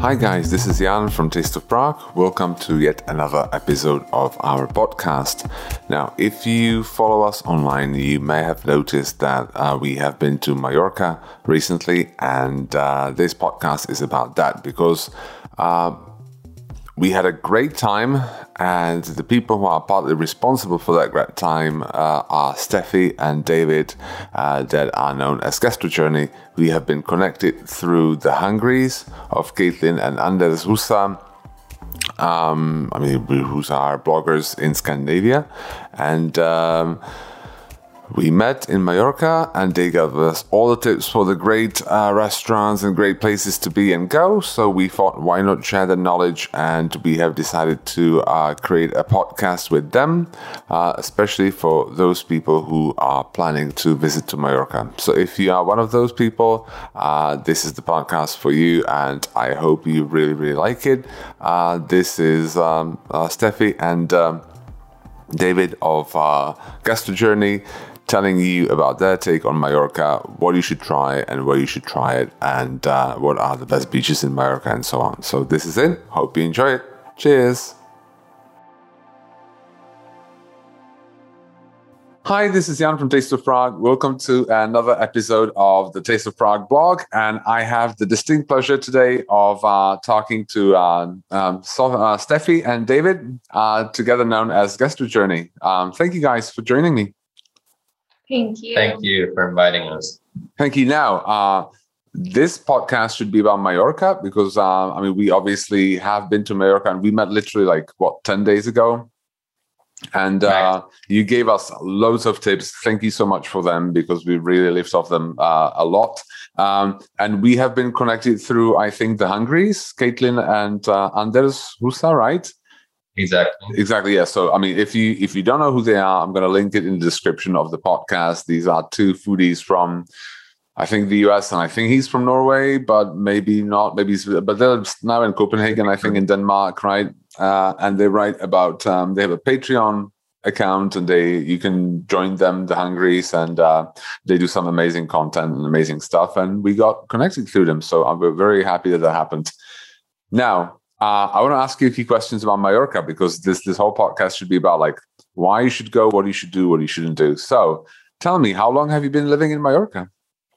Hi guys, this is Jan from Taste of Prague. Welcome to yet another episode of our podcast. Now, if you follow us online, you may have noticed that we have been to Mallorca recently, and this podcast is about that because we had a great time, and the people who are partly responsible for that great time are Steffi and David, that are known as GastroJourney. We have been connected through the Hungries of Caitlin and Anders Husa, who are bloggers in Scandinavia, and we met in Mallorca, and they gave us all the tips for the great restaurants and great places to be and go. So we thought, why not share the knowledge? And we have decided to create a podcast with them, especially for those people who are planning to visit to Mallorca. So if you are one of those people, this is the podcast for you, and I hope you really, really like it. This is Steffi and David of GastroJourney, telling you about their take on Mallorca, what you should try and where you should try it, and what are the best beaches in Mallorca and so on. So this is it. Hope you enjoy it. Cheers. Hi, this is Jan from Taste of Prague. Welcome to another episode of the Taste of Prague blog. And I have the distinct pleasure today of talking to Steffi and David, together known as GastroJourney. Thank you guys for joining me. Thank you. Thank you for inviting us. Thank you. Now, this podcast should be about Mallorca because, we obviously have been to Mallorca, and we met literally 10 days ago. And you gave us loads of tips. Thank you so much for them because we really lived off them a lot. And we have been connected through, I think, the Hungries, Caitlin and Anders Husa, right? Exactly. Yeah. So, if you don't know who they are, I'm going to link it in the description of the podcast. These are two foodies from, I think, the US, and I think he's from Norway, but maybe not. But they're now in Copenhagen, I think, in Denmark, right? And they write about. They have a Patreon account, and you can join them, the Hungries, and they do some amazing content and amazing stuff. And we got connected through them, so I'm very happy that happened. Now, I want to ask you a few questions about Mallorca because this whole podcast should be about why you should go, what you should do, what you shouldn't do. So, tell me, how long have you been living in Mallorca?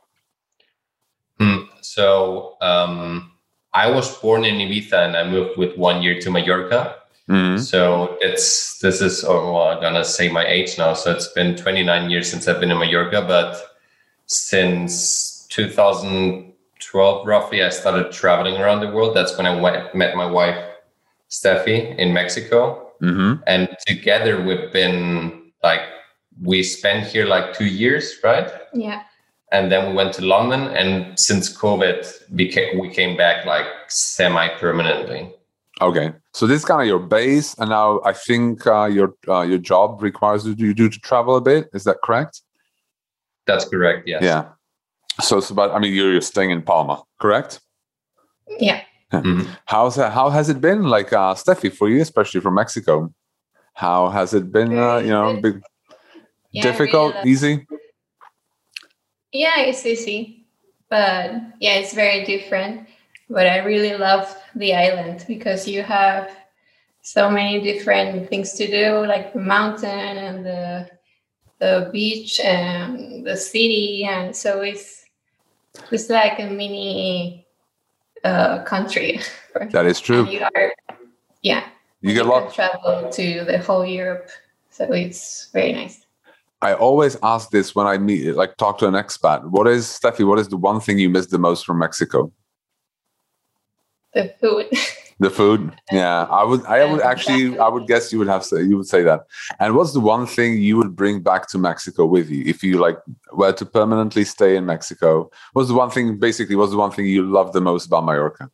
So I was born in Ibiza, and I moved with 1 year to Mallorca. Mm-hmm. So I'm gonna say my age now. So it's been 29 years since I've been in Mallorca, but since 2012, roughly, I started traveling around the world. That's when I met my wife, Steffi, in Mexico. Mm-hmm. And together we've been we spent here 2 years, right? Yeah. And then we went to London, and since COVID, we came back semi-permanently. Okay, so this is kind of your base, and now I think your job requires you to travel a bit. Is that correct? That's correct. Yes. Yeah. So it's about. You're staying in Palma, correct? Yeah. Mm-hmm. How has it been, Steffi, for you, especially from Mexico? How has it been? Difficult, really easy? Yeah, it's easy, but it's very different. But I really love the island because you have so many different things to do, like the mountain and the beach and the city, and so it's like a mini country. That is true. And you get a lot. Travel to the whole Europe, so it's very nice. I always ask this when I talk to an expat. What is the one thing you miss the most from Mexico? The food. The food. Yeah. I would guess you would say that. And what's the one thing you would bring back to Mexico with you if you were to permanently stay in Mexico? What's the one thing you love the most about Mallorca?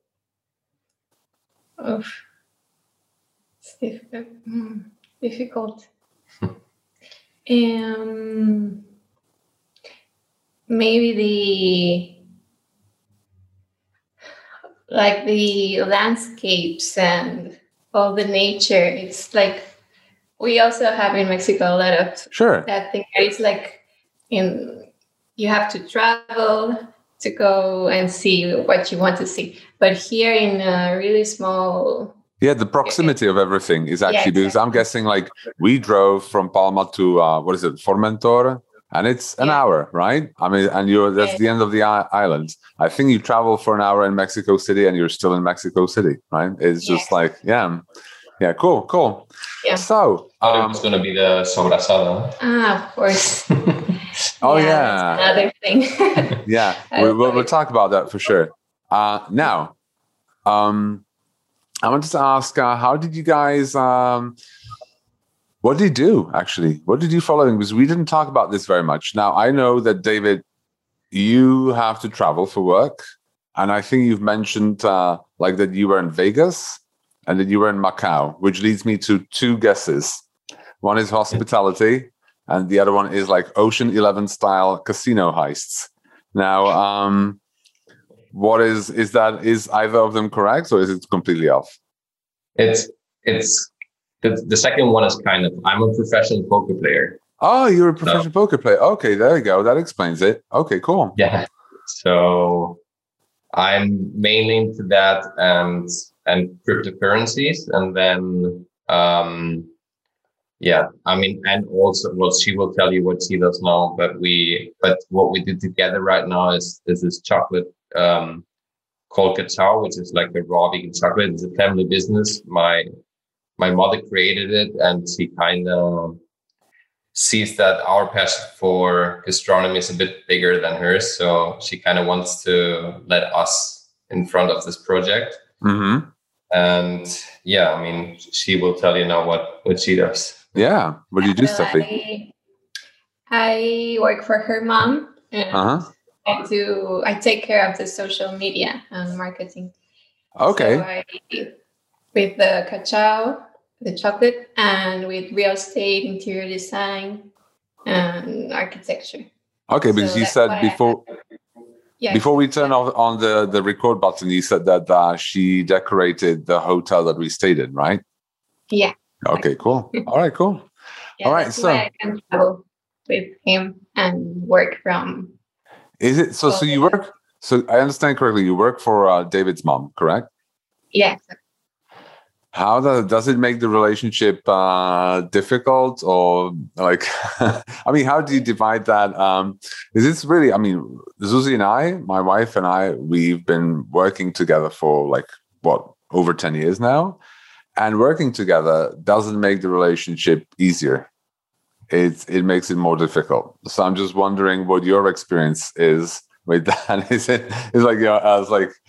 It's difficult. Maybe the landscapes and all the nature. It's we also have in Mexico a lot of sure that thing. It's you have to travel to go and see what you want to see. But here in a really small... Yeah, the proximity of everything is actually, because I'm guessing like we drove from Palma to, Formentor, and it's an hour, right? I mean, and that's the end of the island. I think you travel for an hour in Mexico City and you're still in Mexico City, right? It's just like, cool. Yeah. So, it's going to be the sobrasada. Of course. That's another thing. We'll talk about that for sure. Now, I wanted to ask, how did you guys, what did you do, actually? What did you follow? Because we didn't talk about this very much. Now, I know that, David, you have to travel for work. And I think you've mentioned like that you were in Vegas and that you were in Macau, which leads me to two guesses. One is hospitality, and the other one is like Ocean 11 style casino heists. Now, what is either of them correct, or is it completely off? It's the second one is kind of, I'm a professional poker player. Oh, you're a professional poker player. Okay, there you go. That explains it. Okay, cool. Yeah. So I'm mainly into that and cryptocurrencies, and then I mean, and also, well, she will tell you what she does now, but what we did together right now is this chocolate called Cacao, which is like a raw vegan chocolate. It's a family business. My mother created it, and she kind of sees that our passion for gastronomy is a bit bigger than hers, so she kind of wants to let us in front of this project. Mm-hmm. And I mean, she will tell you now what she does. Yeah. What do you do, Steffi? I work for her mom. And I take care of the social media and marketing. Okay. So with the Cacao, the chocolate, and with real estate, interior design, and architecture. Okay, because you said before... Before we turn on the record button, you said that she decorated the hotel that we stayed in, right? Yeah. Okay, cool. All right, cool. All right, so I can travel with him and work from. Is it so? So you work? So I understand correctly. You work for David's mom, correct? Yeah. How does it make the relationship difficult, or like? I mean, how do you divide that? Is this really? I mean, Zuzi and I, my wife and I, we've been working together for like over 10 years now, and working together doesn't make the relationship easier. It makes it more difficult. So I'm just wondering what your experience is with that. Is like I was like.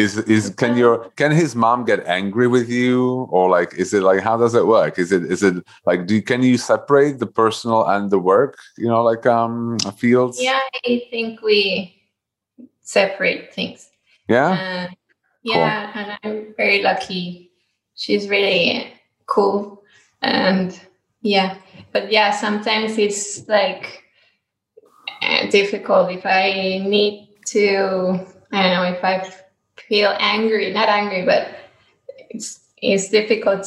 Can his mom get angry with you, or like is it like, how does it work? Is it like can you separate the personal and the work, like fields? Yeah, I think we separate things. Yeah. Cool. And I'm very lucky. She's really cool, and but sometimes it's like difficult if I need to. I don't know if I feel not angry, but it's difficult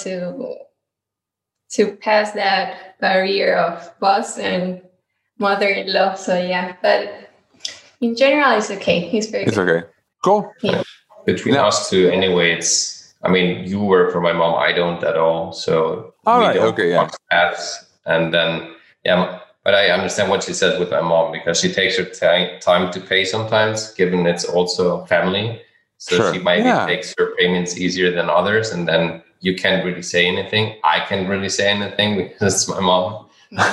to pass that barrier of boss and mother-in-law. So but in general, it's okay. It's good. Okay. Cool. Yeah. Between us two, anyway, I mean, you work for my mom. I don't at all. So all right. Okay. Yeah. And then but I understand what she said with my mom, because she takes her time to pay sometimes, given it's also family. So she maybe takes her payments easier than others, and then you can't really say anything. I can't really say anything because it's my mom.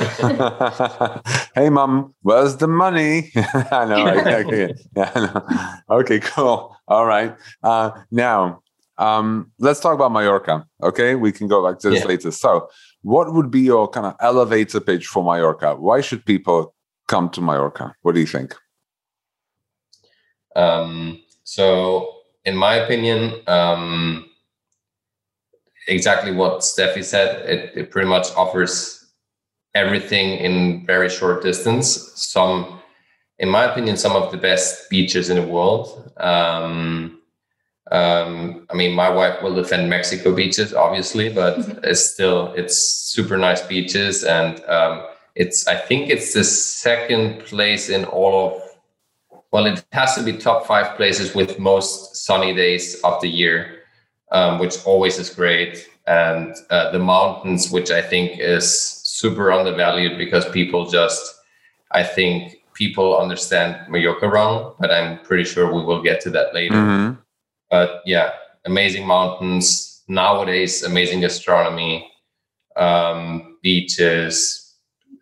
Hey, mom, where's the money? I know. I know. Okay, cool. All right. Now, let's talk about Mallorca. Okay, we can go back to this later. So, what would be your kind of elevator pitch for Mallorca? Why should people come to Mallorca? What do you think? So, in my opinion, exactly what Steffi said. It pretty much offers everything in very short distance. In my opinion, some of the best beaches in the world. I mean, my wife will defend Mexico beaches, obviously, but it's super nice beaches, and I think it's the second place in all of well, it has to be top 5 places with most sunny days of the year, which always is great. And the mountains, which I think is super undervalued because I think people understand Mallorca wrong, but I'm pretty sure we will get to that later. Mm-hmm. But yeah, amazing mountains, nowadays, amazing gastronomy, beaches.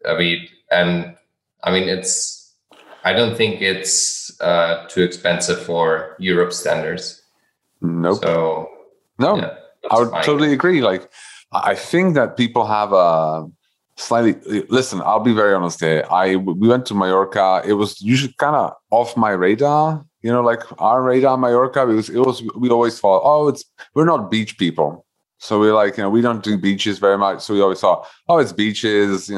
I don't think it's too expensive for Europe standards. Nope. So, no, yeah, I would totally agree. Like, I think that people have a listen, I'll be very honest here. We went to Mallorca. It was usually kind of off my radar, like our radar, Mallorca, because we always thought, we're not beach people. So we're like, we don't do beaches very much. So we always thought, it's beaches,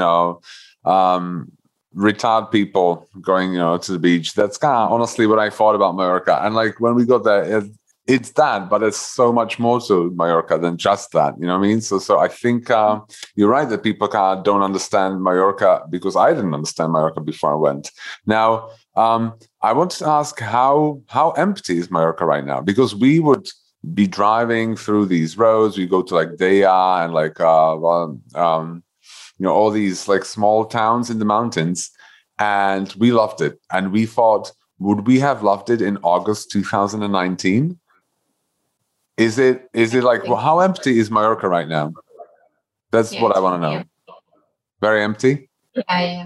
retired people going, to the beach. That's kind of honestly what I thought about Mallorca. And like when we got there, it's that, but it's so much more to Mallorca than just that. You know what I mean? So I think you're right that people kind of don't understand Mallorca, because I didn't understand Mallorca before I went. Now, I want to ask how empty is Mallorca right now? Because we would be driving through these roads. We go to like Daya and like all these like small towns in the mountains, and we loved it. And we thought, would we have loved it in August 2019? Is it like, how empty is Mallorca right now? That's what I want to know. Yeah. Very empty? Yeah.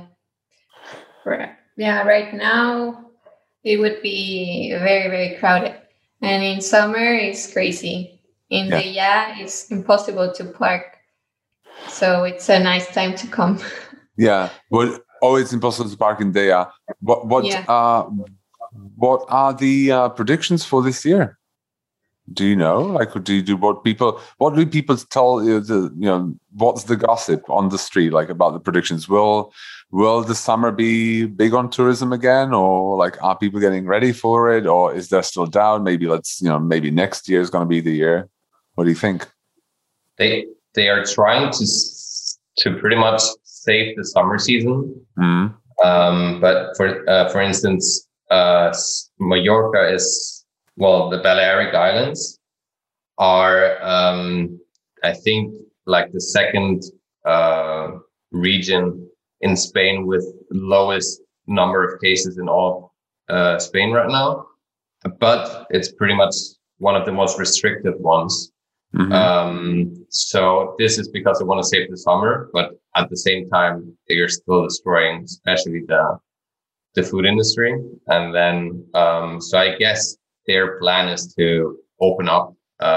Yeah, right now it would be very, very crowded. And in summer, it's crazy. In Daya, it's impossible to park. So it's a nice time to come. Yeah. Well, it's impossible to park in Daya. What are the predictions for this year? Do you know? Like, what do people tell you? What's the gossip on the street like about the predictions? Will the summer be big on tourism again, or like are people getting ready for it, or is there still doubt? Maybe maybe next year is going to be the year. What do you think? They are trying to pretty much save the summer season. Mm-hmm. But for instance, Mallorca the Balearic Islands are, I think, like the second region in Spain with lowest number of cases in all Spain right now. But it's pretty much one of the most restricted ones. Mm-hmm. So this is because they want to save the summer, but at the same time, they are still destroying, especially the food industry. And then, so I guess their plan is to open up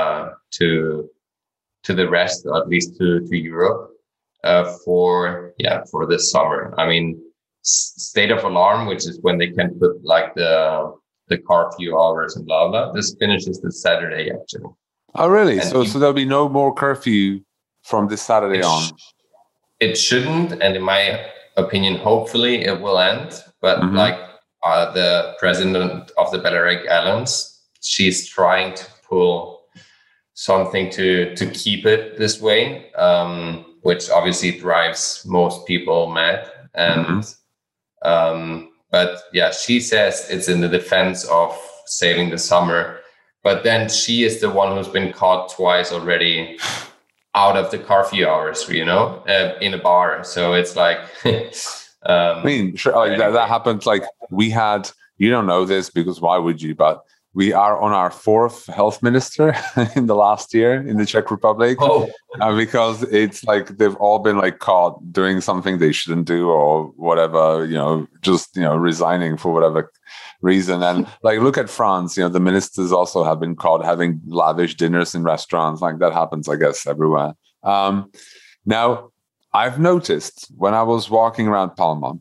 to the rest, or at least to Europe, for this summer. I mean, state of alarm, which is when they can put like the curfew hours and blah blah. This finishes this Saturday actually. Oh really? And so there'll be no more curfew from this Saturday on. It shouldn't, and in my opinion, hopefully it will end. But mm-hmm. The president of the Balearic Islands, she's trying to pull something to keep it this way, which obviously drives most people mad. And but yeah, she says it's in the defense of saving the summer. But then she is the one who's been caught twice already out of the curfew hours, in a bar. So it's like. I mean, sure, like that happened. Like we had, you don't know this because why would you? But we are on our 4th health minister in the last year in the Czech Republic. Oh. Because it's like they've all been like caught doing something they shouldn't do or whatever, just resigning for whatever reason. And like look at France, the ministers also have been caught having lavish dinners in restaurants. Like that happens, I guess, everywhere. Now. I've noticed when I was walking around Palma,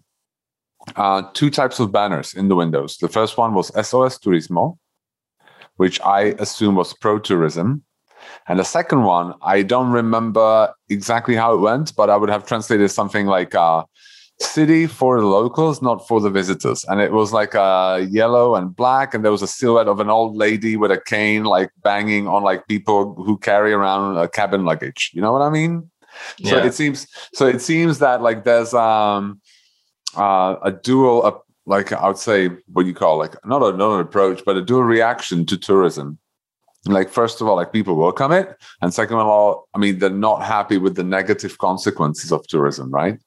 2 types of banners in the windows. The first one was SOS Turismo, which I assume was pro-tourism. And the second one, I don't remember exactly how it went, but I would have translated something like city for the locals, not for the visitors. And it was like yellow and black, and there was a silhouette of an old lady with a cane, like banging on like people who carry around a cabin luggage. You know what I mean? So it seems that like there's a dual like I would say, what you call like not an approach, but a dual reaction to tourism. Like, first of all, like people welcome it. And second of all, I mean, they're not happy with the negative consequences of tourism, right?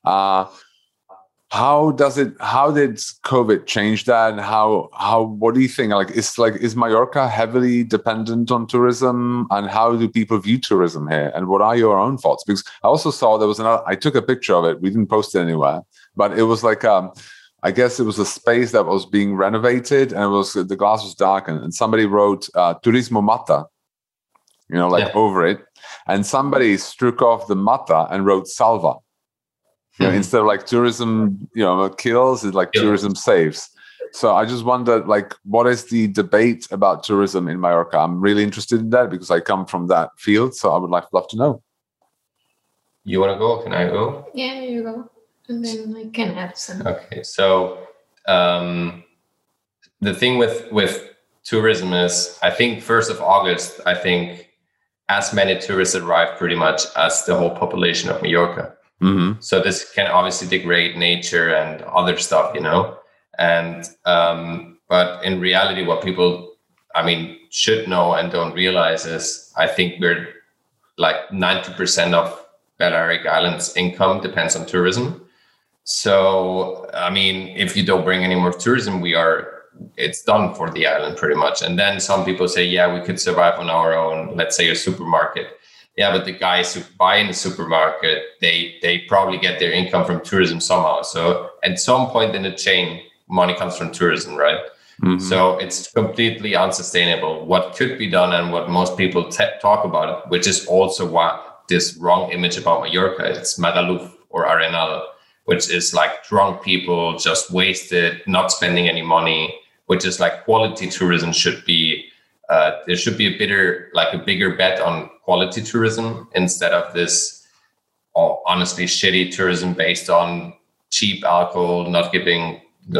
How did COVID change that? And what do you think? Is Mallorca heavily dependent on tourism? And how do people view tourism here? And what are your own thoughts? Because I also saw there was I took a picture of it. We didn't post it anywhere, but it was like, I guess it was a space that was being renovated, and the glass was darkened, and somebody wrote Turismo Mata, over it, and somebody struck off the Mata and wrote Salva. Instead of like tourism, kills, it's like tourism saves. So I just wondered, like, what is the debate about tourism in Mallorca? I'm really interested in that because I come from that field, so I would love to know. You want to go? Can I go? Yeah, you go. And then I can add some. Okay, so the thing with tourism is, I think 1st of August, I think as many tourists arrive pretty much as the whole population of Mallorca. Mm-hmm. So this can obviously degrade nature and other stuff, and but in reality, what people, should know and don't realize is, I think we're like 90% of Balearic Islands income depends on tourism. So, if you don't bring any more tourism, it's done for the island pretty much. And then some people say, yeah, we could survive on our own, let's say a supermarket. Yeah, but the guys who buy in the supermarket, they probably get their income from tourism somehow. So at some point in the chain, money comes from tourism, right? Mm-hmm. So it's completely unsustainable. What could be done, and what most people talk about it, which is also what this wrong image about Mallorca, it's Magaluf or Arenal, which is like drunk people just wasted, not spending any money, which is like quality tourism should be. There should be a bigger bet on quality tourism instead of this, honestly, shitty tourism based on cheap alcohol, not giving,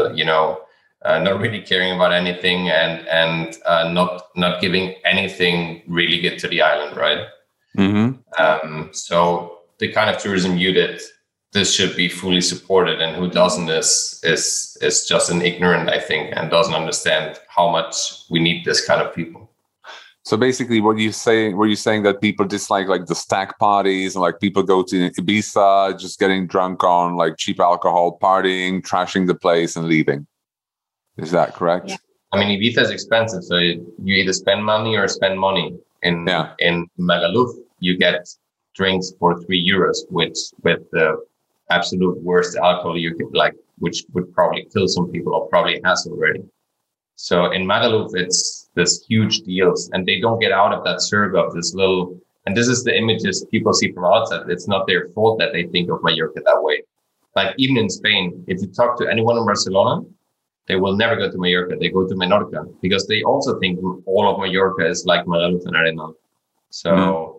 not really caring about anything, and not giving anything really good to the island, right? Mm-hmm. So the kind of tourism you did, this should be fully supported, and who doesn't is just an ignorant, I think, and doesn't understand how much we need this kind of people. So basically, were you saying that people dislike like the stag parties, and like people go to Ibiza just getting drunk on like cheap alcohol, partying, trashing the place and leaving? Is that correct? Yeah. Ibiza is expensive, so you either spend money or spend money. In Magaluf, you get drinks for €3, which with the absolute worst alcohol you could which would probably kill some people, or probably has already. So in Magaluf, it's this huge deals, and they don't get out of that circle of this little, and this is the images people see from outside. It's not their fault that they think of Mallorca that way. Like even in Spain, if you talk to anyone in Barcelona, they will never go to Mallorca. They go to Menorca because they also think all of Mallorca is like Magaluf and Arenal. So,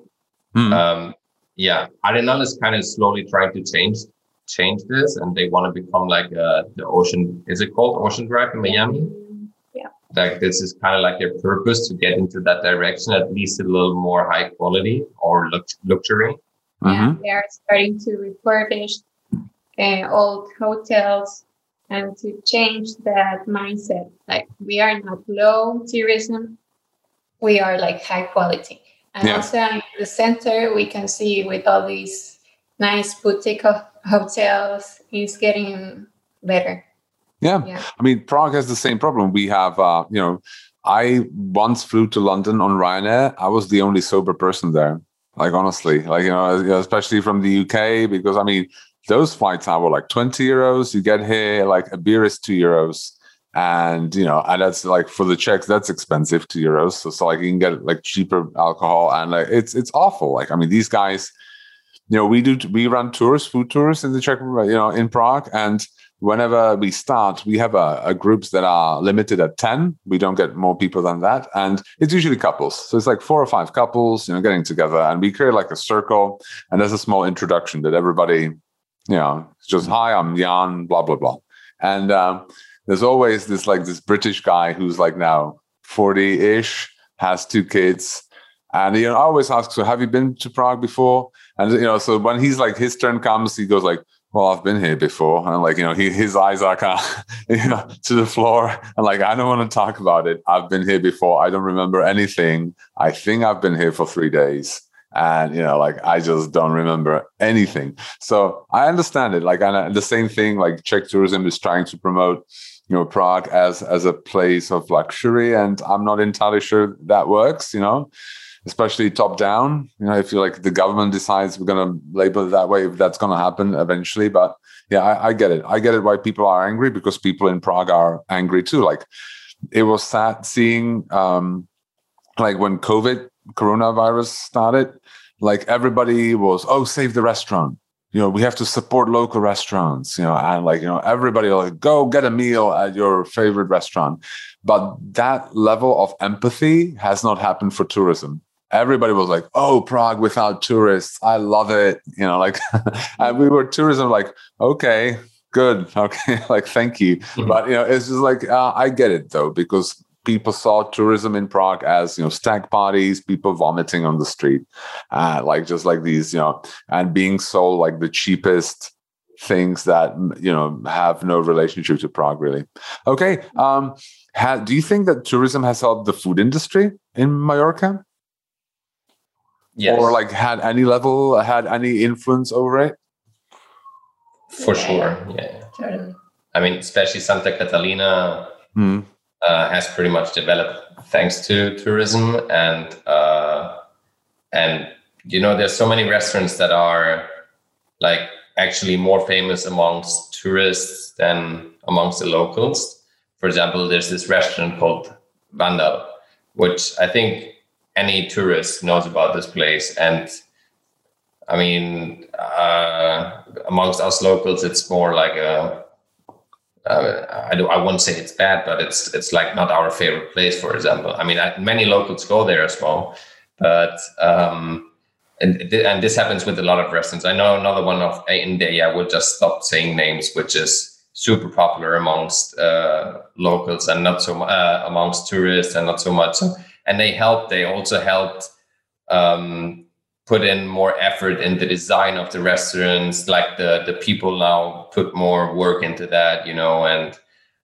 Arenal is kind of slowly trying to change this, and they want to become like the Ocean. Is it called Ocean Drive in Miami? Yeah. Like this is kind of like their purpose, to get into that direction, at least a little more high quality or luxury. Yeah, they are starting to refurbish old hotels and to change that mindset. Like, we are not low tourism, we are like high quality. And also in the center, we can see with all these nice boutique hotels, it's getting better. Yeah. Prague has the same problem. We have, I once flew to London on Ryanair. I was the only sober person there. Like, honestly, especially from the UK, because those flights were like €20. You get here, like a beer is €2. And, and that's like, for the Czechs, that's expensive, €2. So like you can get like cheaper alcohol, and like, it's awful. Like, these guys, we run tours, food tours in the Czech, in Prague. And whenever we start, we have a groups that are limited at 10. We don't get more people than that. And it's usually couples. So it's like 4 or 5 couples, getting together, and we create like a circle, and there's a small introduction that everybody, it's just, hi, I'm Jan, blah, blah, blah. And, there's always this British guy who's like now 40-ish, has 2 kids. And I always ask, so have you been to Prague before? And, so when he's like, his turn comes, he goes like, well, I've been here before. And like, his eyes are kind of, to the floor. And like, I don't want to talk about it. I've been here before. I don't remember anything. I think I've been here for 3 days. And, like, I just don't remember anything. So I understand it. Like, and the same thing, like Czech tourism is trying to promote, Prague as a place of luxury. And I'm not entirely sure that works, especially top down. If the government decides we're going to label it that way, if that's going to happen eventually. But yeah, I get it. I get it why people are angry, because people in Prague are angry too. Like, it was sad seeing, like when coronavirus started, like everybody was, save the restaurant. We have to support local restaurants, and like, everybody will like, go get a meal at your favorite restaurant. But that level of empathy has not happened for tourism. Everybody was like, oh, Prague without tourists. I love it. And we were tourism like, okay, good. Okay. Like, thank you. Mm-hmm. But, it's just like, I get it though, because people saw tourism in Prague as, stag parties, people vomiting on the street, like just like these, and being sold like the cheapest things that, have no relationship to Prague really. Okay. Do you think that tourism has helped the food industry in Mallorca? Yes. Or like had any influence over it? For sure. Yeah. Totally. I mean, especially Santa Catalina has pretty much developed thanks to tourism, and there's so many restaurants that are like actually more famous amongst tourists than amongst the locals. For example, there's this restaurant called Vandal, which I think any tourist knows about this place. And I mean, amongst us locals, it's more like I won't say it's bad, but it's like not our favorite place, for example. I mean, many locals go there as well, but and this happens with a lot of restaurants. I know another one in there. I will just stop saying names, which is super popular amongst locals and not so amongst tourists and not so much. And they also helped put in more effort in the design of the restaurants. Like the people now put more work into that, and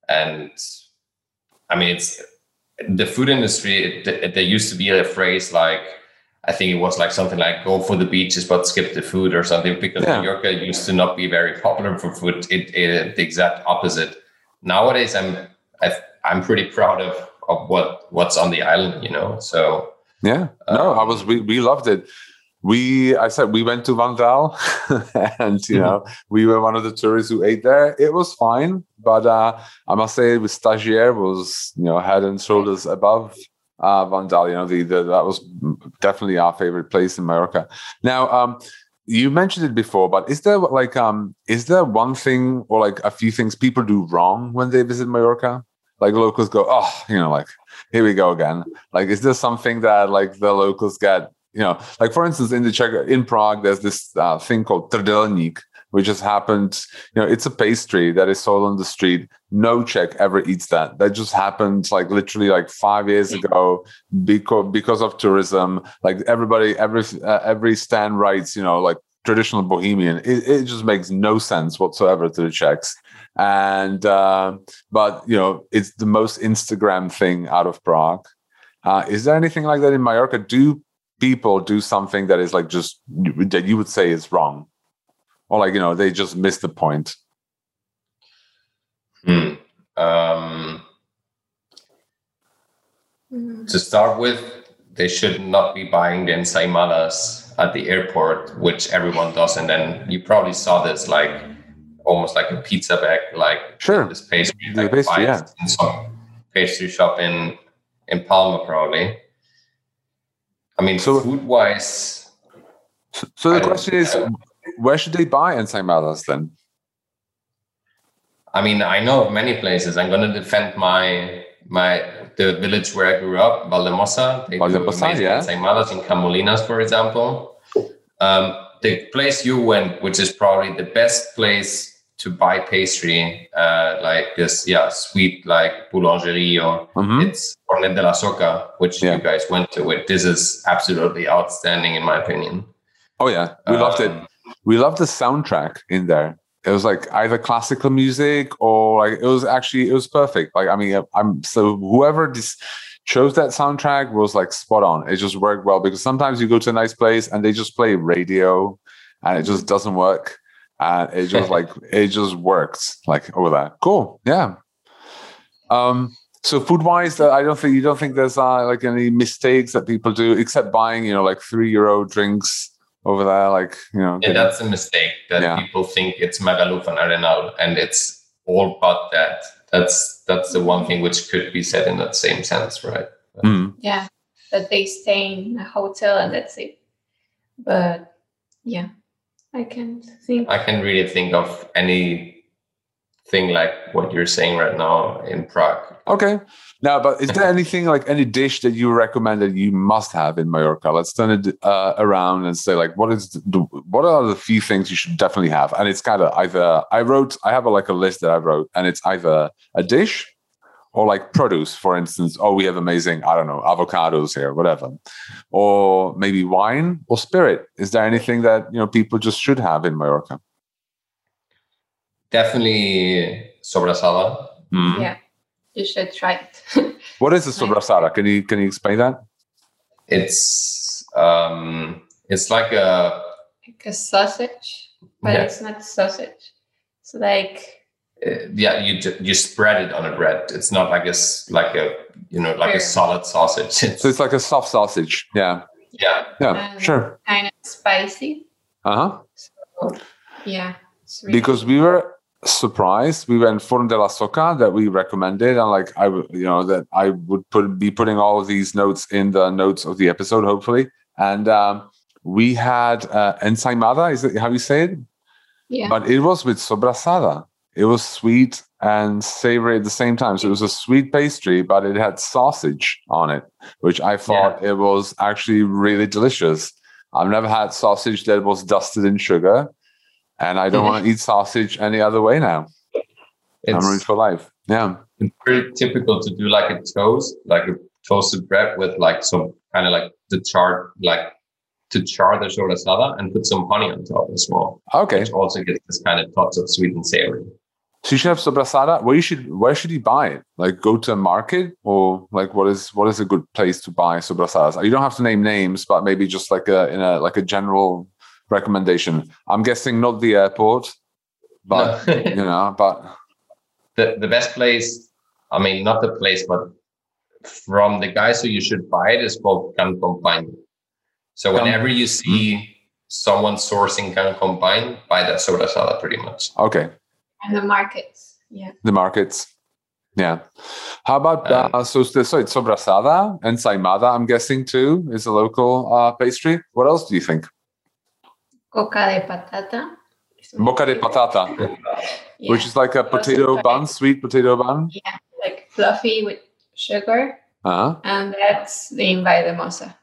I mean, it's the food industry. There used to be a phrase like, I think it was like something like "go for the beaches but skip the food" or something, because Mallorca used to not be very popular for food. The exact opposite. Nowadays, I'm pretty proud of what's on the island, So yeah, we loved it. We went to Vandal, and we were one of the tourists who ate there. It was fine, but I must say, with Stagiaire was head and shoulders above Vandal. That was definitely our favorite place in Mallorca. Now, you mentioned it before, but is there one thing or like a few things people do wrong when they visit Mallorca? Like locals go, like, here we go again. Like, is there something that like the locals get, like for instance, in Prague, there's this thing called trdelník, which has happened, it's a pastry that is sold on the street. No Czech ever eats that. That just happened like literally like 5 years ago because of tourism. Like every stand writes, like traditional Bohemian. It just makes no sense whatsoever to the Czechs. And but it's the most Instagram thing out of Prague. Is there anything like that in Mallorca? Do people do something that is like just that you would say is wrong, or like they just miss the point? To start with, they should not be buying the ensaimadas at the airport, which everyone does, and then you probably saw this like almost like a pizza bag, like this pastry, in some pastry shop in Palma, probably. I mean, food-wise. So the question is, where should they buy ensaimadas then? I mean, I know of many places. I'm going to defend the village where I grew up, Valdemosa. They do amazing ensaimadas in Camolinas, for example. The place you went, which is probably the best place to buy pastry, like this, sweet, like boulangerie, or it's Fornet de la Soca, which you guys went to. This is absolutely outstanding, in my opinion. Oh yeah, we loved it. We loved the soundtrack in there. It was like either classical music or like it was perfect. Like, I mean, so whoever chose that soundtrack was like spot on. It just worked well because sometimes you go to a nice place and they just play radio and it just doesn't work. And it just it just works like over there. Cool. Yeah. So food wise, you don't think there's like any mistakes that people do except buying, like €3 drinks over there, like, Yeah, that's a mistake that people think it's Magaluf and Arenal, and it's all but that. That's the one thing which could be said in that same sense, right? Yeah, that they stay in a hotel and that's it. But yeah, I can't really think of anything like what you're saying right now in Prague. Okay. Now, but is there anything like any dish that you recommend that you must have in Mallorca? Let's turn it around and say like, what are the few things you should definitely have? And it's kind of either I have a list that I wrote, and it's either a dish or like produce, for instance. Oh, we have amazing, I don't know, avocados here, whatever, or maybe wine or spirit. Is there anything that people just should have in Mallorca? Definitely sobrasada. Mm-hmm. Yeah. You should try it. What is a sobrasada? Can you explain that? It's like a sausage, but it's not sausage. It's like you spread it on a bread. It's not like a solid sausage. So it's like a soft sausage. Yeah. Sure. Kind of spicy. So, yeah. Really because we were surprised. We went Forn de la Soca that we recommended, and like I would be putting all of these notes in the notes of the episode, hopefully. And we had ensaimada. Is it how you say it? Yeah. But it was with sobrasada. It was sweet and savory at the same time. So it was a sweet pastry, but it had sausage on it, which I thought it was actually really delicious. I've never had sausage that was dusted in sugar. And I don't want to eat sausage any other way now. I'm rich for life. Yeah. It's pretty typical to do like a toast, like a toasted bread with like some kind of like to char the sobrasada and put some honey on top as well. Okay. Which also gets this kind of touch of sweet and savory. So you should have sobrasada. Where should you buy it? Like go to a market, or like what is a good place to buy sobrasadas? You don't have to name names, but maybe just like a general recommendation. I'm guessing not the airport, but but the best place, I mean not the place, but from the guys who you should buy it is called Can Combine. So whenever you see someone sourcing Can Combine, buy that sobrasada pretty much. Okay. And the markets. Yeah. The markets. Yeah. How about so it's sobrasada and ensaimada, I'm guessing too, is a local pastry. What else do you think? Boca de patata. Boca de patata, which is like a potato bun, sweet potato bun. Yeah, like fluffy with sugar. And that's the Valldemosa.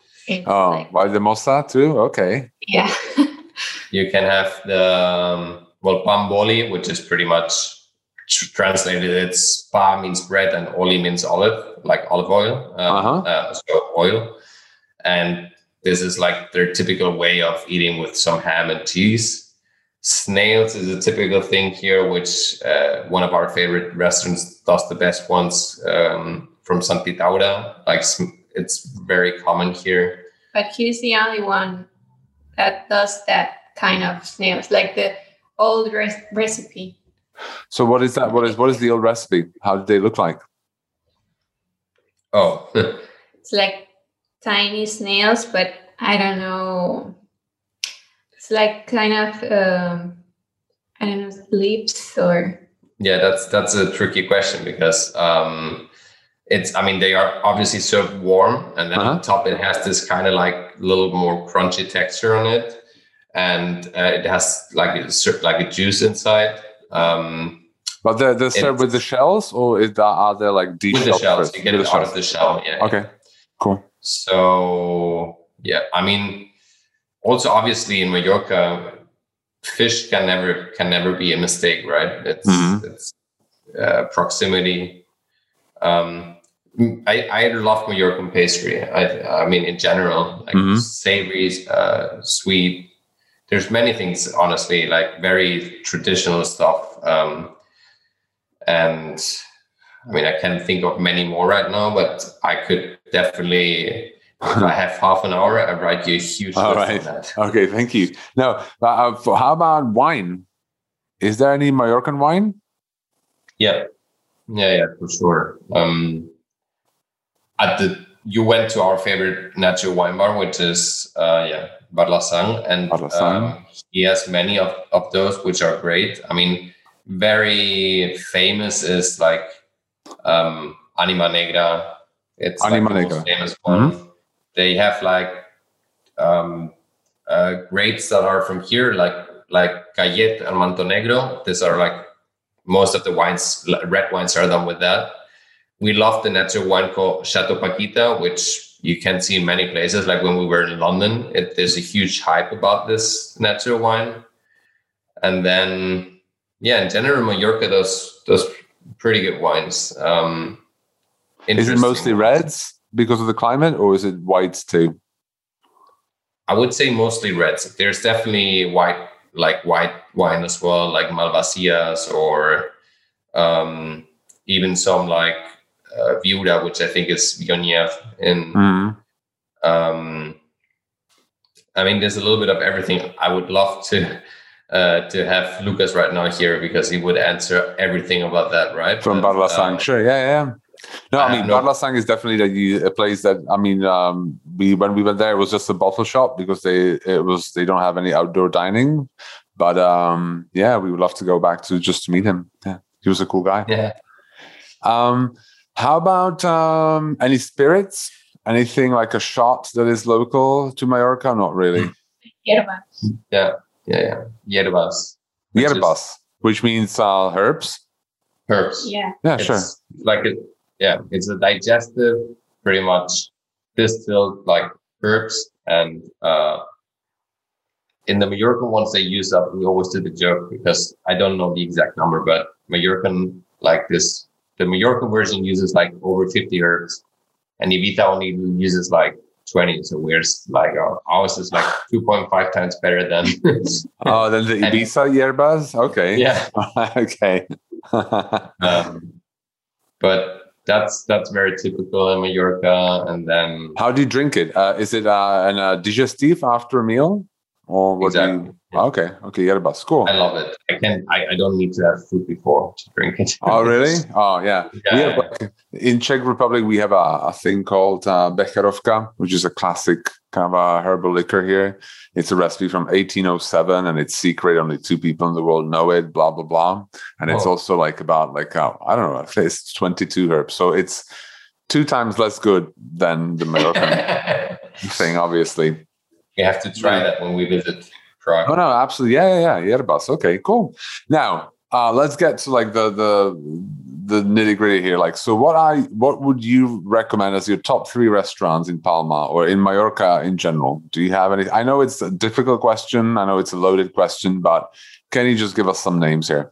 Valldemosa too? Okay. Yeah. You can have the, pan boli, which is pretty much translated. It's pa means bread and oli means olive, like olive oil. So oil. And this is like their typical way of eating with some ham and cheese. Snails is a typical thing here, which one of our favorite restaurants does the best ones from Sant Pitaura. Like it's very common here. But he's the only one that does that kind of snails, like the old recipe. So what is that? What is the old recipe? How did they look like? Oh, it's like tiny snails, but I don't know. It's like kind of lips or. Yeah, that's a tricky question because they are obviously served warm, and then on top it has this kind of like little more crunchy texture on it, and it has like a juice inside. But they're served with the shells, or are there like de-shelled? With the shells, you get it out of the shell. Yeah. Okay, cool. So yeah, I mean, also obviously in Mallorca, fish can never be a mistake, right? It's proximity. I love Mallorcan pastry. I mean, in general, like savory, sweet. there's many things, honestly, like very traditional stuff. And I mean, I can't think of many more right now, but I could definitely, if I have half an hour, I write you a huge list on that. Okay, thank you. Now, how about wine? Is there any Mallorcan wine? Yeah, for sure. You went to our favorite natural wine bar, which is Barlasang, and he has many of those, which are great. I mean, very famous is like Anima Negra. It's Anima like the most famous one. Mm-hmm. They have like grapes that are from here, like Cayet and Manto Negro. These are like most of the wines, red wines are done with that. We love the natural wine called Chateau Paquita, which you can see in many places. Like when we were in London, there's a huge hype about this natural wine. And then, in general, Mallorca, those pretty good wines. Is it mostly reds because of the climate, or is it whites too? I would say mostly reds. There's definitely white wine as well, like Malvasias, or even some like Viura, which I think is Viognier. I mean, there's a little bit of everything. I would love to have Lucas right now here because he would answer everything about that, right? From Barlasang, sure, yeah. No, I mean, Barlasang is definitely a place that, I mean, when we went there, it was just a bottle shop because they don't have any outdoor dining. But we would love to go back to meet him. Yeah, he was a cool guy. Yeah. How about any spirits? Anything like a shot that is local to Mallorca? Not really. Hierbas. Yeah. Hierbas. Which means herbs. Herbs. Yeah. Yeah, sure. It's a digestive, pretty much distilled like herbs, and in the Mallorcan ones they use up. We always do the joke because I don't know the exact number, but Mallorcan like this. The Mallorcan version uses like over 50 herbs, and Ibiza only uses like 20. So we're like ours is like 2.5 times better than. Than the Ibiza hierbas. Okay. Yeah. Okay. But that's very typical in Mallorca. And then how do you drink it? Is it an digestif after a meal, or what? Exactly. Okay, hierbas, cool. I love it. I don't need to have food before to drink it. Oh, really? Oh, yeah. In Czech Republic, we have a thing called Becherovka, which is a classic kind of a herbal liquor here. It's a recipe from 1807, and it's secret. Only 2 people in the world know it, blah, blah, blah. And it's also like about I don't know, it's 22 herbs. So it's 2 times less good than the Mallorcan thing, obviously. You have to try that when we visit Prague. Oh, no, absolutely. Yeah. Hierbas. Okay, cool. Now, let's get to like the nitty gritty here. Like, so what would you recommend as your top 3 restaurants in Palma or in Mallorca in general? Do you have any? I know it's a difficult question. I know it's a loaded question, but can you just give us some names here?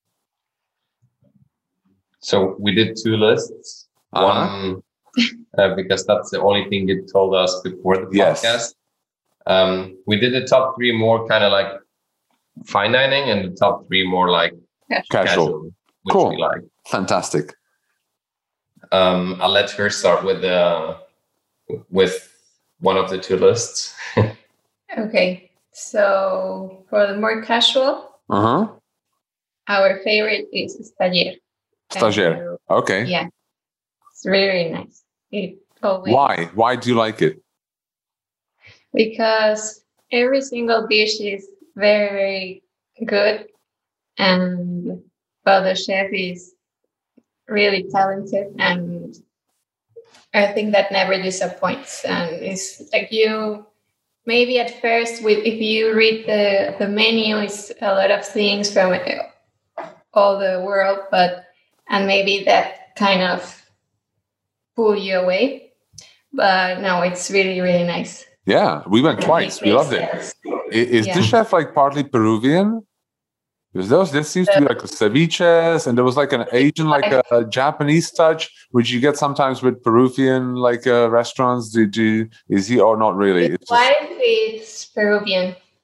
So we did 2 lists. One, because that's the only thing you told us before the podcast. Yes. We did the top 3 more kind of like fine dining, and the top 3 more like casual, which cool. we like. Fantastic. I'll let her start with one of the 2 lists. Okay, so for the more casual, our favorite is Stagiaire. Stagiaire. Okay. Yeah, it's really nice. Why do you like it? Because every single dish is very, very good, and the chef is really talented, and I think that never disappoints. And it's like maybe at first, if you read the menu, it's a lot of things from all the world, and maybe that kind of pull you away. But no, it's really, really nice. Yeah, we went twice. We loved it. Is this chef like partly Peruvian? Because there seems to be like ceviches, and there was like an Asian, like a Japanese touch, which you get sometimes with Peruvian like restaurants. Is he or not really? His wife is Peruvian.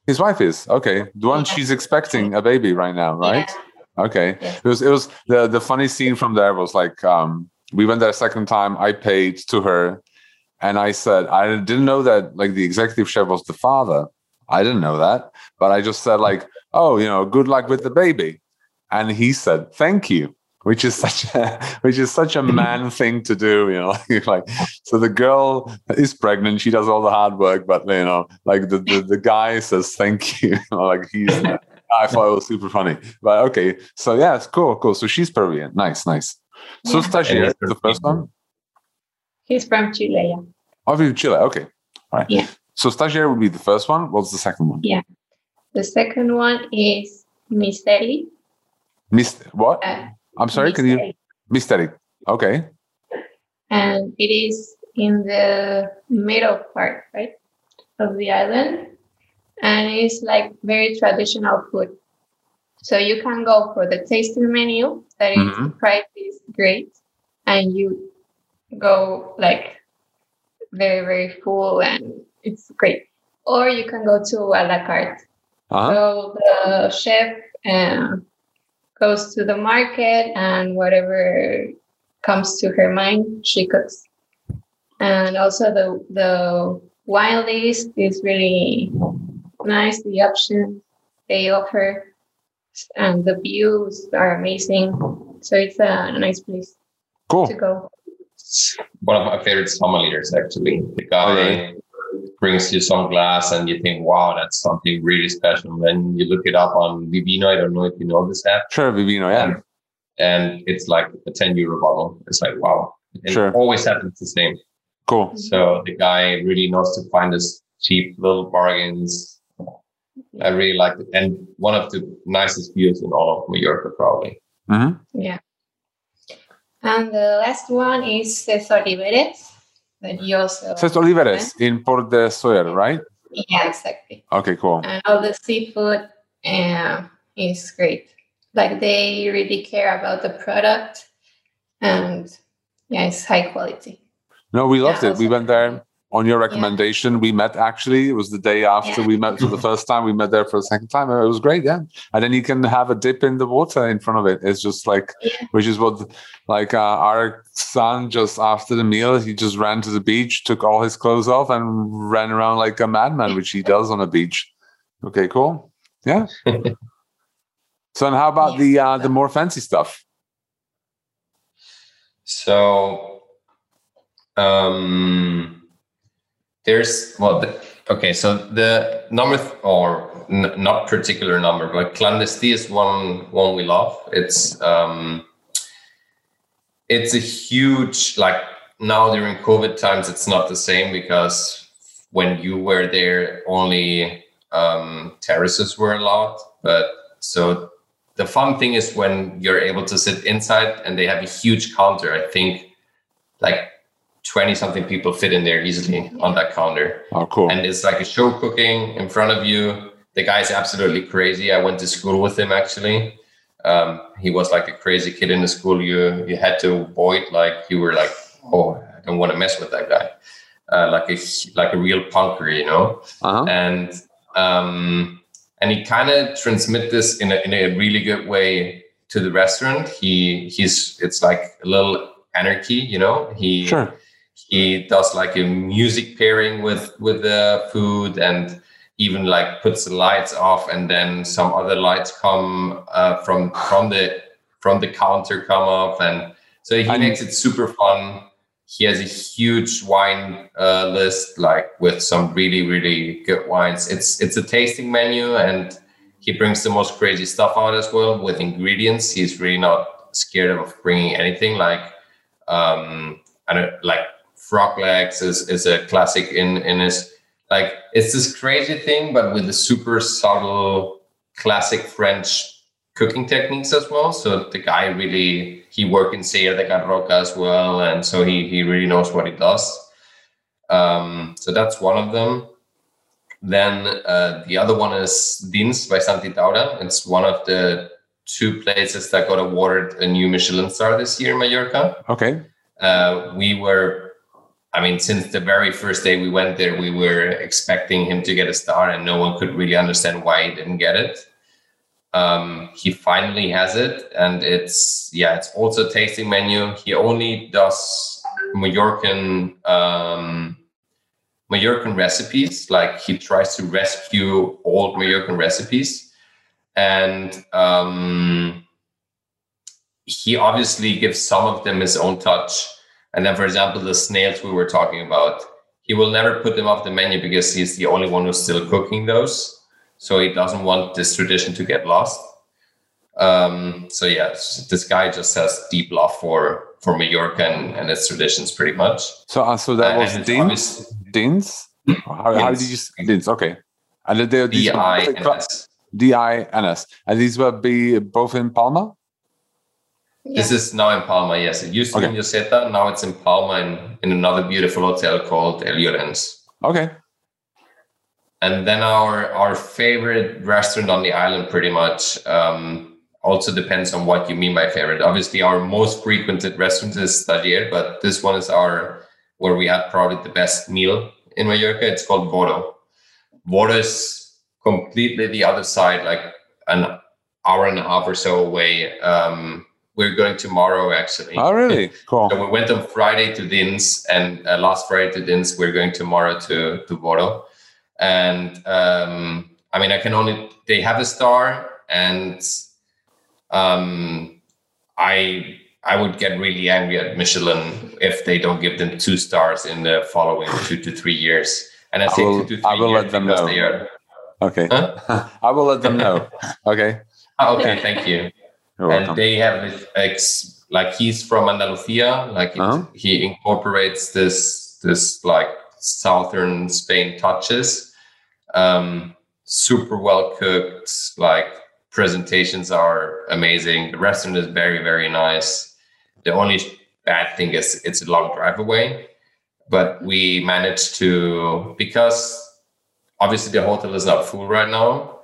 His wife is okay. The one she's expecting a baby right now, right? Yeah. Okay. Yeah. It was the funny scene from there was like we went there a second time. I paid to her, and I said I didn't know that like the executive chef was the father. I didn't know that, but I just said like, oh, good luck with the baby, and he said thank you. Which is such a man thing to do, like so the girl is pregnant, she does all the hard work, but like the guy says thank you, like I thought it was super funny. But okay, so yeah, it's cool. So she's Peruvian, nice. So Stagiaire, the first one. He's from Chile, yeah. Oh, from Chile, okay, all right. Yeah. So Stagiaire would be the first one. What's the second one? Yeah, the second one is Misteri. What? I'm sorry, Misteri. Can you? Misteri. Okay. And it is in the middle part, right, of the island. And it's like very traditional food. So you can go for the tasting menu, that is, the price is great. And you go like very, very full and it's great. Or you can go to a la carte. So the chef goes to the market and whatever comes to her mind, she cooks. And also the wine list is really nice. The options they offer and the views are amazing. So it's a nice place to go. One of my favorite sommeliers, actually. The guy brings you some glass and you think, wow, that's something really special. Then you look it up on Vivino. I don't know if you know this app. Sure, Vivino, yeah. And it's like a 10 euro bottle. It's like, wow. It always happens the same. Cool. So the guy really knows to find us cheap little bargains. I really like it. And one of the nicest views in all of Mallorca, probably. Mm-hmm. Yeah. And the last one is Cés Oliveres. That you also Cés Oliveres in Port de Sóller, right? Yeah, exactly. Okay, cool. And all the seafood is great. Like they really care about the product, and it's high quality. No, we loved it. We went there on your recommendation. We met actually. It was the day after we met for the first time. We met there for the second time. It was great, yeah. And then you can have a dip in the water in front of it. It's just like, which is what, like our son just after the meal, he just ran to the beach, took all his clothes off, and ran around like a madman, which he does on a beach. Okay, cool. Yeah. So, and how about the more fancy stuff? So, there's so the number not particular number, but Clandestí is one we love. It's a huge, like now during COVID times, it's not the same because when you were there, only terraces were allowed. But so the fun thing is when you're able to sit inside and they have a huge counter. I think like 20 something people fit in there easily on that counter. Oh, cool. And it's like a show cooking in front of you. The guy's absolutely crazy. I went to school with him, actually. He was like a crazy kid in the school. You had to avoid, like you were like, oh, I don't want to mess with that guy. Like a real punker, And he kind of transmit this in a really good way to the restaurant. It's like a little anarchy, He does like a music pairing with the food, and even like puts the lights off, and then some other lights come from the counter come off, and so he makes it super fun. He has a huge wine list, like with some really, really good wines. It's a tasting menu, and he brings the most crazy stuff out as well with ingredients. He's really not scared of bringing anything. Like frog legs is a classic in his. Like it's this crazy thing, but with the super subtle classic French cooking techniques as well. So the guy he worked in Sierra de Garroca as well, and so he really knows what he does. So that's one of them. Then the other one is Dins by Santi Taura. It's one of the 2 places that got awarded a new Michelin star this year in Mallorca. Okay. We were I mean, since the very first day we went there, we were expecting him to get a star, and no one could really understand why he didn't get it. He finally has it, and it's also a tasting menu. He only does Mallorcan recipes. Like, he tries to rescue old Mallorcan recipes, and he obviously gives some of them his own touch. And then, for example, the snails we were talking about, he will never put them off the menu because he's the only one who's still cooking those. So he doesn't want this tradition to get lost. So yeah, this guy just has deep love for Mallorca and its traditions, pretty much. So that was Dins? How did you say Dins? Okay. And D-I-N-S. D-I-N-S. And these will be both in Palma? Yeah. This is now in Palma, yes. It used to be in Lloseta. Now it's in Palma in another beautiful hotel called El Llorens. Okay. And then our favorite restaurant on the island, pretty much, also depends on what you mean by favorite. Obviously, our most frequented restaurant is Taller, but this one is where we had probably the best meal in Mallorca. It's called Voro. Voro is completely the other side, like an hour and a half or so away. We're going tomorrow, actually. Oh, really? Cool. So we went on Friday to Dins, and last Friday to Dins. We're going tomorrow to Voro. And I mean, they have a star, and I would get really angry at Michelin if they don't give them 2 stars in the following 2 to 3 years. And I say 2 to 3 years. I will let them know. Okay. Huh? I will let them know. Okay. Okay. Thank you. You're welcome. They have like, he's from Andalusia. Like, he incorporates this like southern Spain touches. Super well cooked. Like, presentations are amazing. The restaurant is very, very nice. The only bad thing is it's a long drive away, but we managed to, because obviously the hotel is not full right now,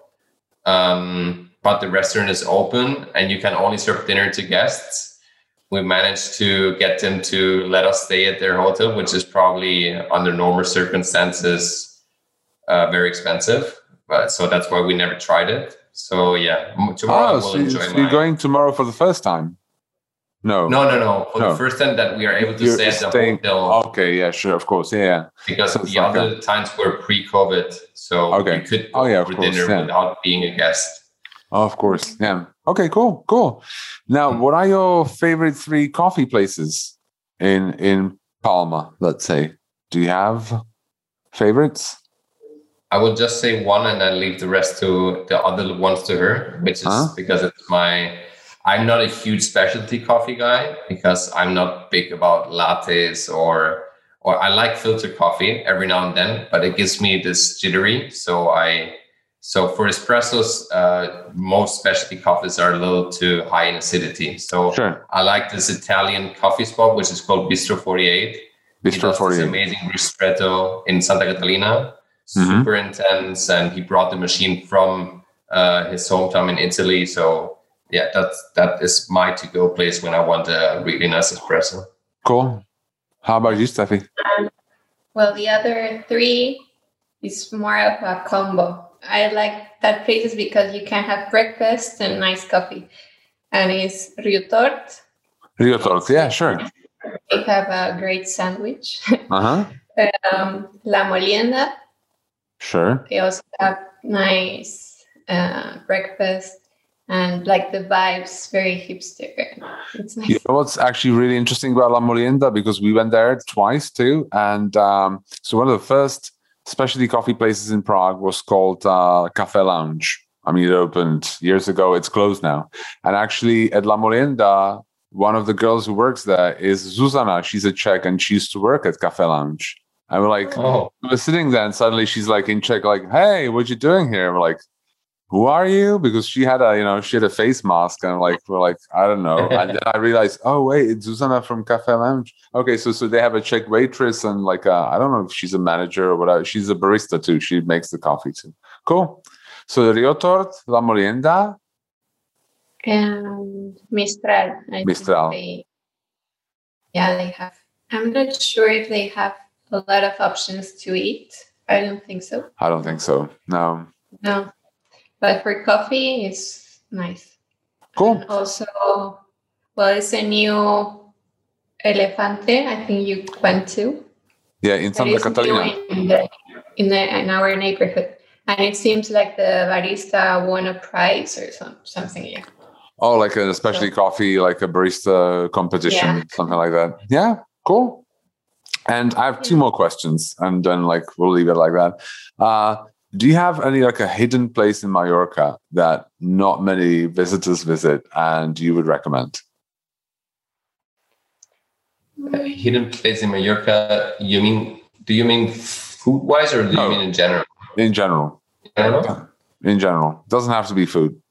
but the restaurant is open and you can only serve dinner to guests. We managed to get them to let us stay at their hotel, which is probably under normal circumstances very expensive. But so that's why we never tried it. So yeah, tomorrow we'll enjoy. So you're going tomorrow for the first time? No. For the first time that we are able to stay at the hotel. Okay, yeah, sure, of course, yeah. Because the other times were pre-COVID, so we could go for dinner without being a guest. Oh, of course, yeah. Okay, cool. Now, what are your favorite 3 coffee places in Palma, let's say? Do you have favorites? I will just say one and then leave the rest to the other ones to her, which is because I'm not a huge specialty coffee guy, because I'm not big about lattes or I like filter coffee every now and then, but it gives me this jittery. So for espressos, most specialty coffees are a little too high in acidity. So I like this Italian coffee spot, which is called Bistro 48. Bistro 48. This amazing ristretto in Santa Catalina. Super intense, and he brought the machine from his hometown in Italy. So yeah, that is my to-go place when I want a really nice espresso. Cool. How about you, Steffi? Well, the other 3 is more of a combo. I like that places because you can have breakfast and nice coffee. And it's Rio Tort. Rio Tort, yeah, sure. They have a great sandwich. La Molienda. Sure. They also have nice breakfast and like the vibes, very hipster. It's nice. You know what's actually really interesting about La Molienda, because we went there twice too. And so one of the first specialty coffee places in Prague was called Cafe Lounge. I mean, it opened years ago. It's closed now. And actually at La Molienda, one of the girls who works there is Zuzana. She's a Czech and she used to work at Cafe Lounge. And we're like, we were sitting there and suddenly she's like in Czech, like, hey, what you doing here? And we're like, who are you? Because she had a face mask, and we're like, I don't know. And then I realized, oh wait, it's Zuzana from Cafe Lounge. Okay, so they have a Czech waitress and like I don't know if she's a manager or whatever. She's a barista too. She makes the coffee too. Cool. So Rio Tort, La Molienda, and Mistral. Mistral. They have I'm not sure if they have a lot of options to eat. I don't think so. I don't think so. No. No. But for coffee, it's nice. Cool. And also, well, it's a new Elefante. I think you went to. Yeah, in Santa Catalina. In our neighborhood. And it seems like the barista won a prize or something. Yeah. Oh, like a specialty coffee, like a barista competition, something like that. Yeah, cool. And I have two more questions, and then we'll leave it like that. Do you have any a hidden place in Mallorca that not many visitors visit and you would recommend? A hidden place in Mallorca? Do you mean food wise, or do you mean in general? In general. In general. Doesn't have to be food.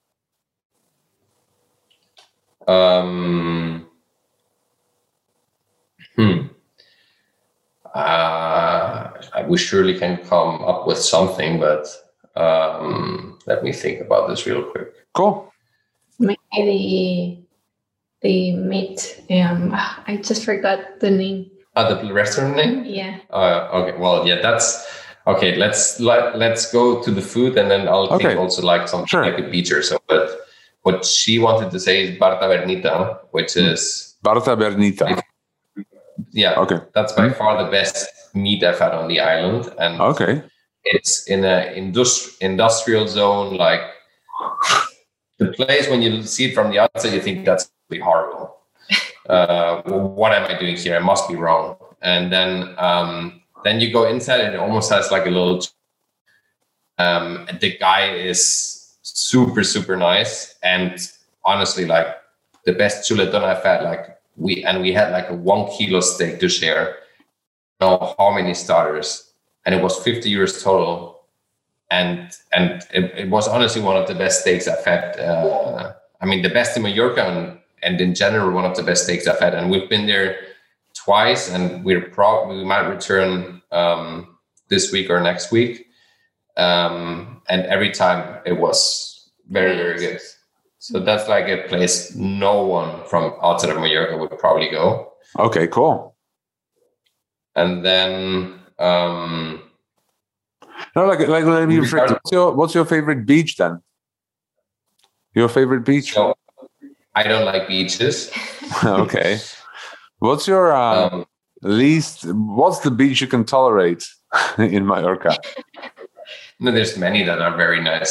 We surely can come up with something, but let me think about this real quick. Cool. Maybe the meat. I just forgot the name. The restaurant name? Yeah. Okay. Well, yeah, that's okay. Let's go to the food, and then I'll think also something like a beach or so. But what she wanted to say is Bar Tabernita, which is Bar Tabernita. Yeah. Okay. That's by far the best meat I've had on the island, and it's in a industrial zone. Like the place, when you see it from the outside, you think that's really horrible. What am I doing here? I must be wrong. And then you go inside, and it almost has like a little. The guy is super, super nice, and honestly, like the best chuletón I've had. We had like a 1 kilo steak to share. I don't know how many starters, and it was 50 euros total. And it was honestly one of the best steaks I've had. The best in Mallorca, and in general, one of the best steaks I've had. And we've been there twice, and we might return this week or next week. And every time it was very, very good. So that's like a place no one from outside of Mallorca would probably go. Okay, cool. And then let me reflect. What's your favorite beach then? Your favorite beach? So, I don't like beaches. Okay. What's your what's the beach you can tolerate in Mallorca? No, there's many that are very nice.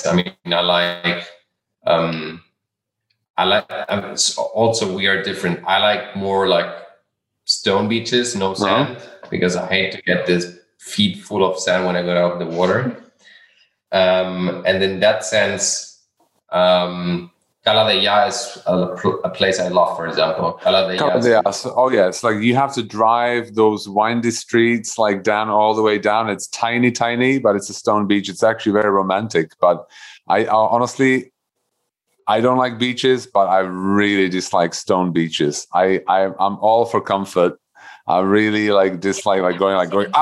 Also, we are different. I like more like stone beaches, no sand, because I hate to get this feet full of sand when I go out of the water. And in that sense, Cala Deià is a place I love, for example. Cala Deià. Oh yeah, it's like you have to drive those windy streets down all the way down. It's tiny, but it's a stone beach. It's actually very romantic. But I honestly, I don't like beaches, but I really dislike stone beaches. I'm all for comfort. I really dislike going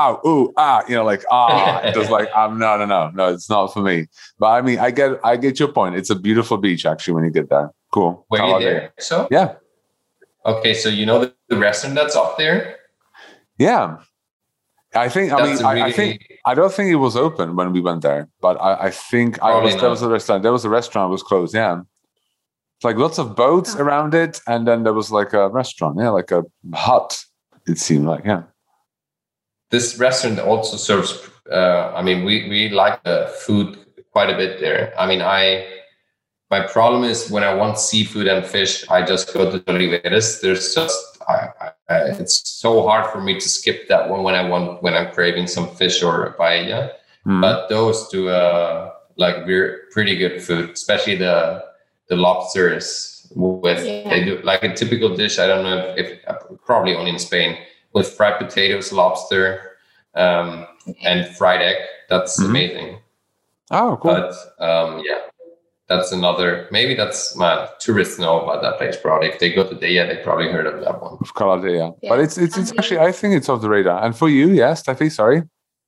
just no, it's not for me. But I get your point. It's a beautiful beach actually when you get there. Cool. Were you there? So yeah. Okay, so you know the restaurant that's up there? Yeah. I think I don't think it was open when we went there, but I think there was a restaurant. There was a restaurant was closed. Yeah. It's like lots of boats around it, and then there was like a restaurant, like a hut. It seemed like, yeah. This restaurant also serves. We like the food quite a bit there. My problem is when I want seafood and fish, I just go to Oliveres. There's just it's so hard for me to skip that one when I'm craving some fish or a paella. But those two we're pretty good food, especially the lobsters they do like a typical dish. I don't know if probably only in Spain, with fried potatoes, lobster, and fried egg. That's amazing. Oh, cool. But that's another. Maybe that's tourists know about that place. Probably if they go to Deià, they probably heard of that one. Of Cala Deià. Yeah. But it's actually, I think it's off the radar. And for you, yes, Steffi, sorry.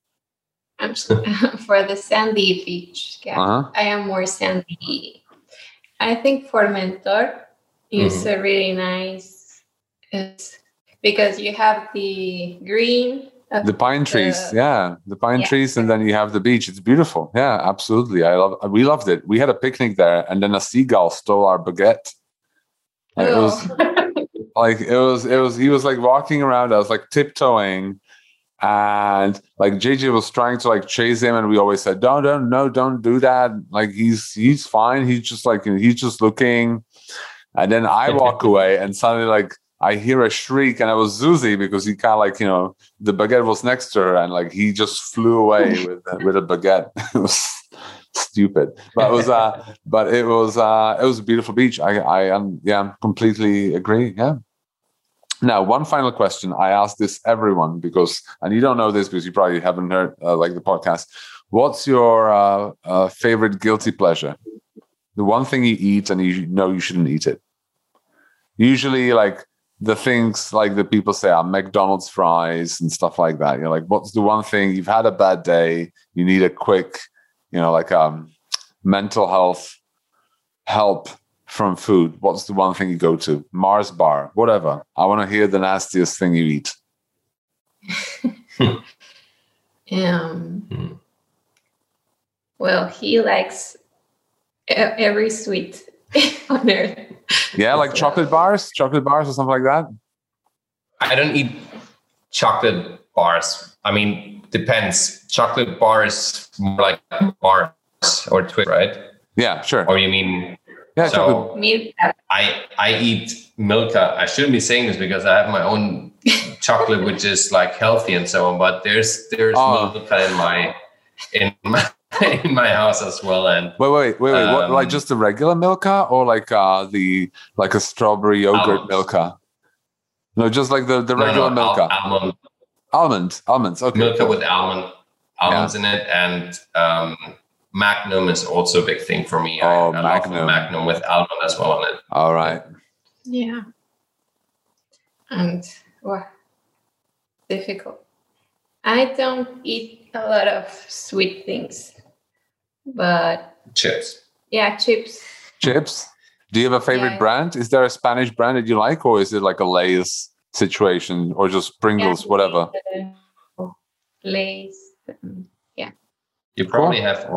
For the sandy beach, I am more sandy. I think Formentor is a really nice. It's because you have the green. The pine trees, the pine trees, and then you have the beach. It's beautiful. Yeah, absolutely. We loved it. We had a picnic there, and then a seagull stole our baguette. Like, it was. He was like walking around. I was like tiptoeing, and like JJ was trying to like chase him, and we always said, don't do that. Like he's fine. He's just looking, and then I walk away, and suddenly like I hear a shriek, and it was Zuzi because he kind of like, the baguette was next to her, and like he just flew away with a baguette. It was stupid, but it was a beautiful beach. I completely agree. Yeah. Now, one final question. I ask this everyone and you don't know this because you probably haven't heard like the podcast. What's your favorite guilty pleasure? The one thing you eat and you know you shouldn't eat it. Usually, like the things like that people say are McDonald's fries and stuff like that. You're like, what's the one thing you've had a bad day? You need a quick, like mental health help from food. What's the one thing you go to? Mars bar, whatever. I want to hear the nastiest thing you eat. Well, he likes every sweet on earth. Yeah, like chocolate bars or something like that. I don't eat chocolate bars. I mean, depends. Chocolate bars more like bars or Twix, right? Yeah, sure. Or you mean? Yeah, so I eat Milka. I shouldn't be saying this because I have my own chocolate, which is like healthy and so on. But there's Milka in my house as well. And wait. What, like just the regular Milka or like a strawberry yogurt Milka? No, just like the regular Milka. Almonds. Okay. Milka with almonds in it, and Magnum is also a big thing for me. I love Magnum with almond as well on it. All right. Yeah. And difficult. I don't eat a lot of sweet things, but chips. Yeah, chips. Chips. Do you have a favorite brand? Is there a Spanish brand that you like, or is it like a Lay's situation, or just Pringles, whatever? Lay's. Yeah. You probably have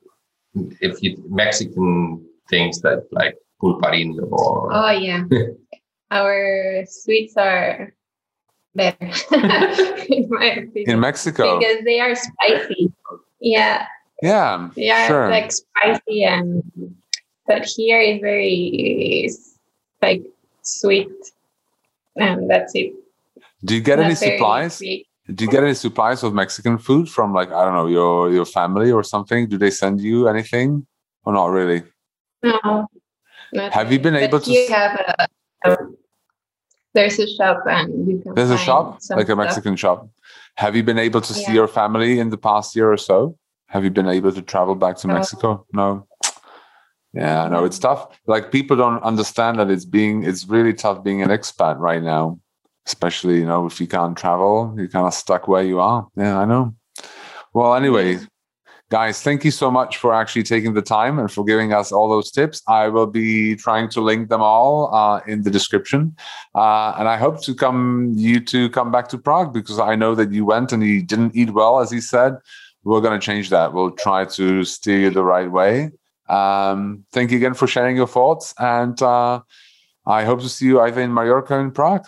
Mexican things that like pulparin or. Oh yeah, our sweets are better in my opinion. In Mexico, because they are spicy. Yeah. Yeah. They are like spicy, but here is very like sweet, and that's it. Do you get any supplies? Sweet. Do you get any supplies of Mexican food from, like, I don't know, your family or something? Do they send you anything or not really? No. Have you been able to? You have there's a shop and you can. There's a shop, like a Mexican shop. Have you been able to see your family in the past year or so? Have you been able to travel back to Mexico? No. Yeah, no, it's tough. Like people don't understand that it's really tough being an expat right now. Especially, if you can't travel, you're kind of stuck where you are. Yeah, I know. Well, anyway, guys, thank you so much for actually taking the time and for giving us all those tips. I will be trying to link them all in the description. And I hope to come back to Prague, because I know that you went and you didn't eat well, as he said. We're going to change that. We'll try to steer you the right way. Thank you again for sharing your thoughts. And I hope to see you either in Mallorca or in Prague.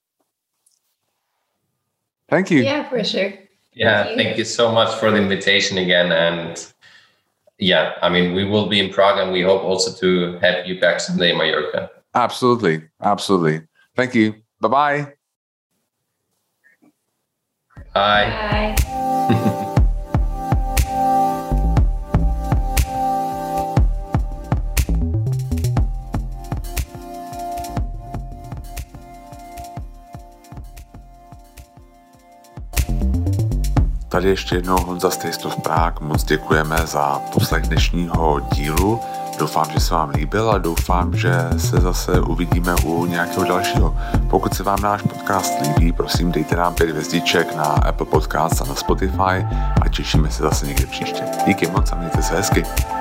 Thank you. Yeah, for sure. Yeah, thank you so much for the invitation again. And yeah, I mean, we will be in Prague and we hope also to have you back someday in Mallorca. Absolutely. Absolutely. Thank you. Bye-bye. Bye. Bye. Tady ještě jednou Honza z Taste of Prague. Moc děkujeme za poslech dnešního dílu. Doufám, že se vám líbil a doufám, že se zase uvidíme u nějakého dalšího. Pokud se vám náš podcast líbí, prosím dejte nám 5 hvězdiček na Apple Podcasts a na Spotify a těšíme se zase někde příště. Díky moc a mějte se hezky.